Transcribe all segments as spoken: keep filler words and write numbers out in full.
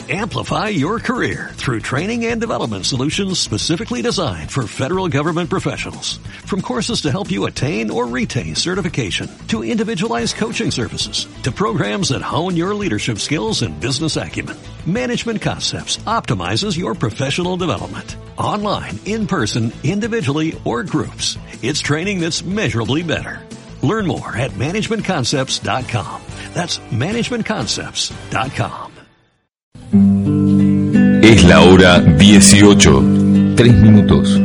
Amplify your career through training and development solutions specifically designed for federal government professionals. From courses to help you attain or retain certification, to individualized coaching services, to programs that hone your leadership skills and business acumen, Management Concepts optimizes your professional development. Online, in person, individually, or groups, it's training that's measurably better. Learn more at management concepts dot com. That's management concepts dot com. Es la hora dieciocho, tres minutos.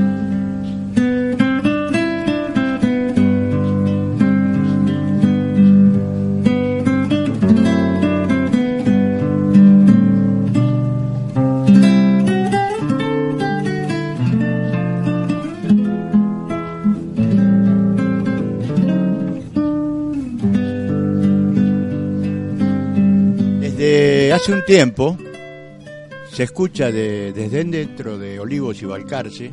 Desde hace un tiempo se escucha de, desde dentro de Olivos y Balcarce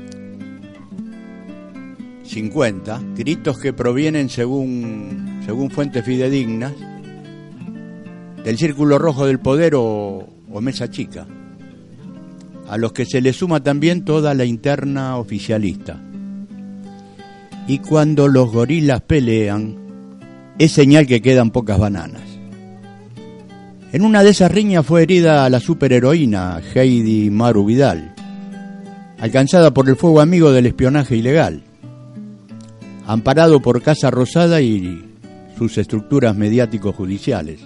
cincuenta gritos que provienen según, según fuentes fidedignas del Círculo Rojo del Poder o, o Mesa Chica, a los que se le suma también toda la interna oficialista. Y cuando los gorilas pelean, es señal que quedan pocas bananas. En una de esas riñas fue herida la superheroína Heidi Maru Vidal, alcanzada por el fuego amigo del espionaje ilegal, amparado por Casa Rosada y sus estructuras mediático-judiciales.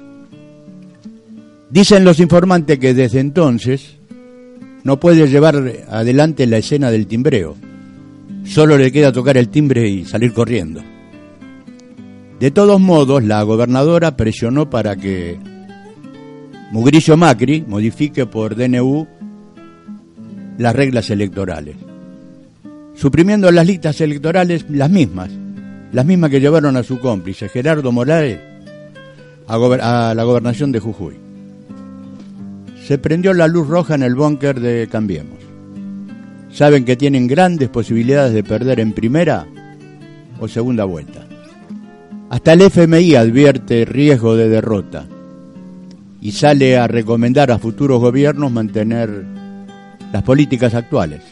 Dicen los informantes que desde entonces no puede llevar adelante la escena del timbreo, solo le queda tocar el timbre y salir corriendo. De todos modos, la gobernadora presionó para que Mugrillo Macri modifique por D N U las reglas electorales, suprimiendo las listas electorales las mismas, las mismas que llevaron a su cómplice Gerardo Morales a, gober- a la gobernación de Jujuy. Se prendió la luz roja en el búnker de Cambiemos. Saben que tienen grandes posibilidades de perder en primera o segunda vuelta. Hasta el F M I advierte riesgo de derrota y sale a recomendar a futuros gobiernos mantener las políticas actuales.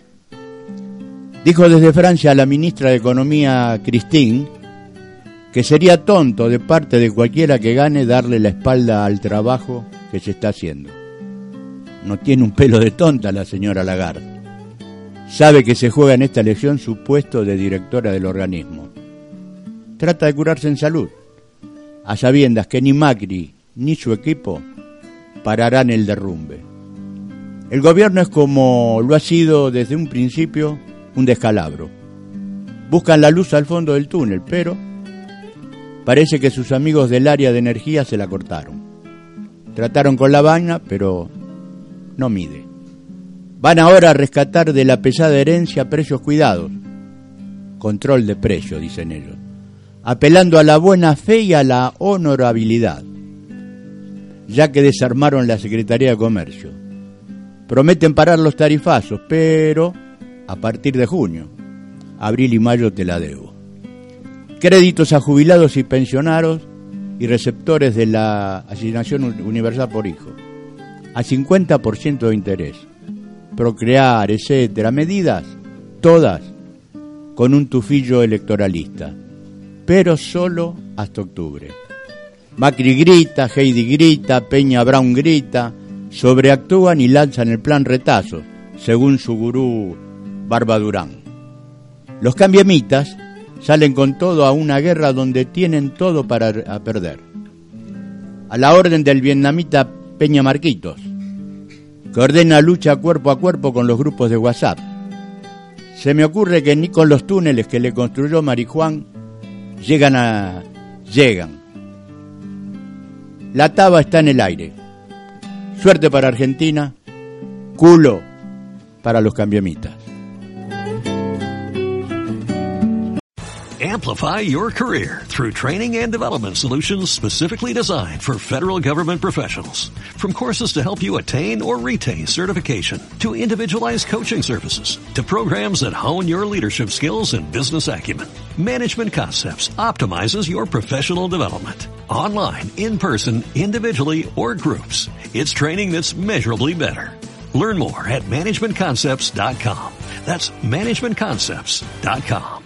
Dijo desde Francia la ministra de Economía, Christine, que sería tonto de parte de cualquiera que gane darle la espalda al trabajo que se está haciendo. No tiene un pelo de tonta la señora Lagarde. Sabe que se juega en esta elección su puesto de directora del organismo. Trata de curarse en salud, a sabiendas que ni Macri ni su equipo pararán el derrumbe. El gobierno es, como lo ha sido desde un principio, un descalabro. Buscan la luz al fondo del túnel, pero parece que sus amigos del área de energía se la cortaron. Trataron con la vaina, pero no mide. Van ahora a rescatar de la pesada herencia precios cuidados. Control de precios, dicen ellos, apelando a la buena fe y a la honorabilidad, ya que desarmaron la Secretaría de Comercio. Prometen parar los tarifazos, pero a partir de junio, abril y mayo te la debo. Créditos a jubilados y pensionados y receptores de la asignación universal por hijo, a cincuenta por ciento de interés. Procrear, etcétera, medidas, todas con un tufillo electoralista, pero solo hasta octubre. Macri grita, Heidi grita, Peña Brown grita, sobreactúan y lanzan el plan retazo, según su gurú Barba Durán. Los cambiemitas salen con todo a una guerra donde tienen todo para a perder. A la orden del vietnamita Peña Marquitos, que ordena lucha cuerpo a cuerpo con los grupos de WhatsApp. Se me ocurre que ni con los túneles que le construyó Marijuán llegan a... llegan. La taba está en el aire. Suerte para Argentina, culo para los cambiemitas. Amplify your career through training and development solutions specifically designed for federal government professionals. From courses to help you attain or retain certification, to individualized coaching services, to programs that hone your leadership skills and business acumen, Management Concepts optimizes your professional development. online, in person, individually, or groups. It's training that's measurably better. Learn more at management concepts dot com. That's management concepts dot com.